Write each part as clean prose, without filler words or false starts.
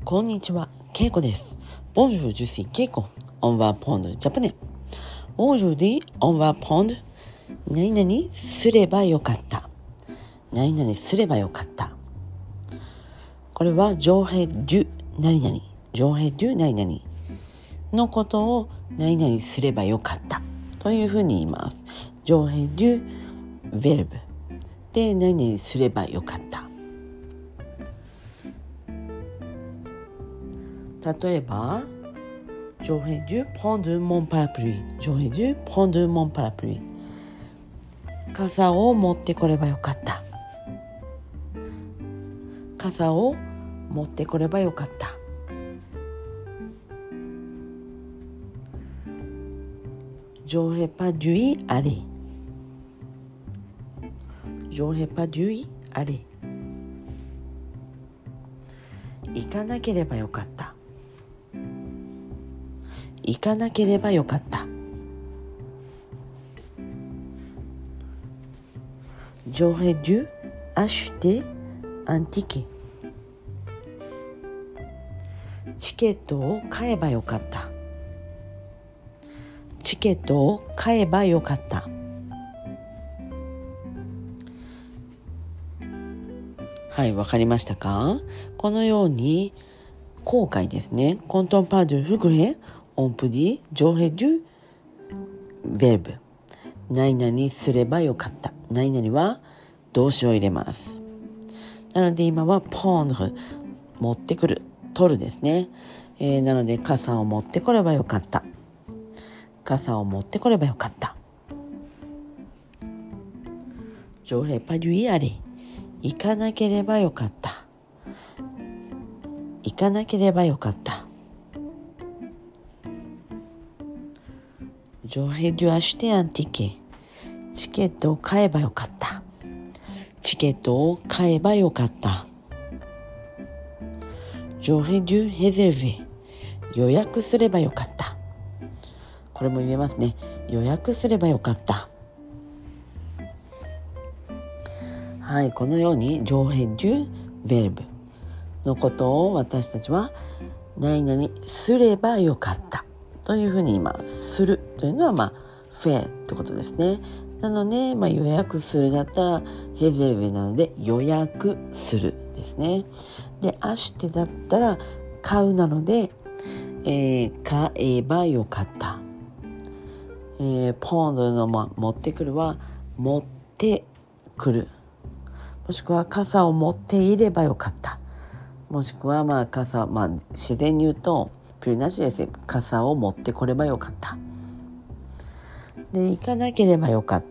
こんにちは、ケイコです。Bonjour, je suis Keiko. On va apprendre japonais. Aujourd'hui, on va apprendre 何々すればよかった。何々すればよかった。これはj'aurais dû何々、j'aurais dû何々のことを何々すればよかったというふうに言います。j'aurais dû verb で何々すればよかった。例えばj'aurais dû prendre mon parapluie. J'aurais dû prendre mon parapluie. 傘を持ってこればよかった。傘を持ってこればよかった。J'aurais pas dû y aller. J'aurais pas dû y aller. 行かなければよかった。行かなければよかった。J'aurais dû acheter un ticket. チケットを買えばよかった。チケットを買えばよかった。はい、わかりましたか？このように後悔ですね。Quand on parle de regret,on peut dire j'aurais dû verb 何々すればよかった。何々は動詞を入れます。なので今は prendre 持ってくる、取るですね。なので傘を持ってこればよかった。傘を持ってこればよかった。j'aurais pas dû y aller 行かなければよかった。行かなければよかった。j'aurais dû acheter un ticket チケットを買えばよかった。チケットを買えばよかった。j'aurais dû réserver 予約すればよかった。これも言えますね。予約すればよかった。はい、このようにj'aurais dû verb のことを私たちは何々すればよかったというふうに言います。するというのはフェってことですね。なので、予約するだったらヘゼルベなので予約するですね。で、アシュテだったら買うなので、買えばよかった。ポンドの、持ってくるは持ってくる。もしくは傘を持っていればよかった。もしくは傘、自然に言うとピューなしです。傘を持ってこればよかった。で、行かなければよかった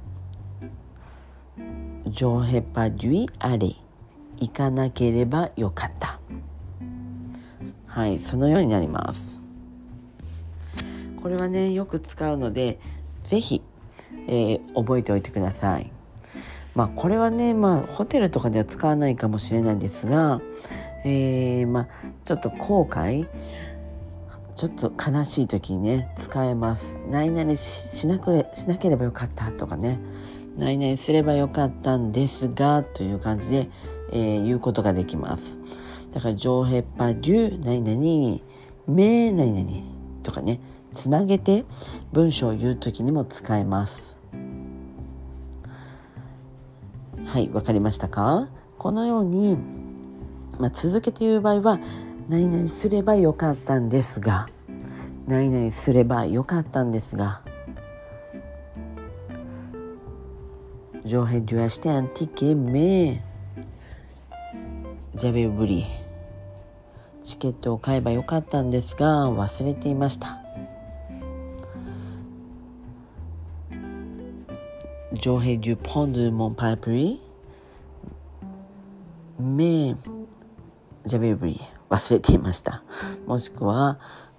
。j'aurais pas dû y aller 行かなければよかった。はい、そのようになります。これはね、よく使うのでぜひ、覚えておいてください。これはね、ホテルとかでは使わないかもしれないんですが、ちょっと後悔、ちょっと悲しい時にね使えます。何々しなければよかったとかね、何々すればよかったんですがという感じで、言うことができます。だからj'aurais pas dû何々mais何々とかね、つなげて文章を言う時にも使えます。はい、わかりましたか？このように、続けて言う場合は何々すればよかったんですが、何々すればよかったんですが、j'aurais dû acheter un ticket mais j'avais oublié チケットを買えばよかったんですが忘れていました。j'aurais dû prendre mon parapluie mais j'avais oublié忘れていました。もしくは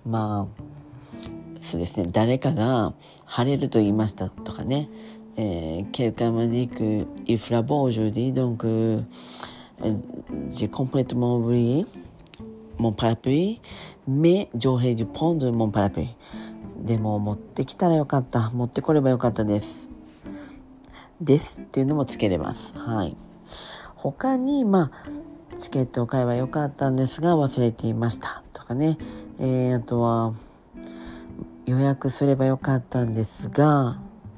そうですね、誰かが晴れると言いましたとかね、quelqu'un m'a dit que il fera beau aujourd'hui donc j'ai complètement oublié mon parapluie mais j'aurais dû prendre mon parapluie でも持ってきたらよかった、持ってこればよかったですっていうのもつけれます。はい。他にチケットを買えばよかったんですが忘れていましたとかね、あとは予約すればよかったんですが、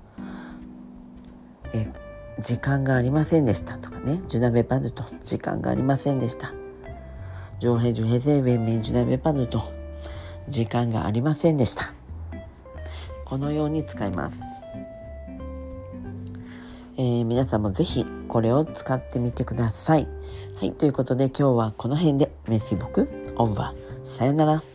時間がありませんでしたとかね、Je n'avais pas de temps、時間がありませんでした。J'aurais dû réserver mais je n'avais pas de temps、時間がありませんでした。このように使います。皆さんもぜひこれを使ってみてください。はい、ということで今日はこの辺で。Merci beaucoup。Au revoir。さよなら。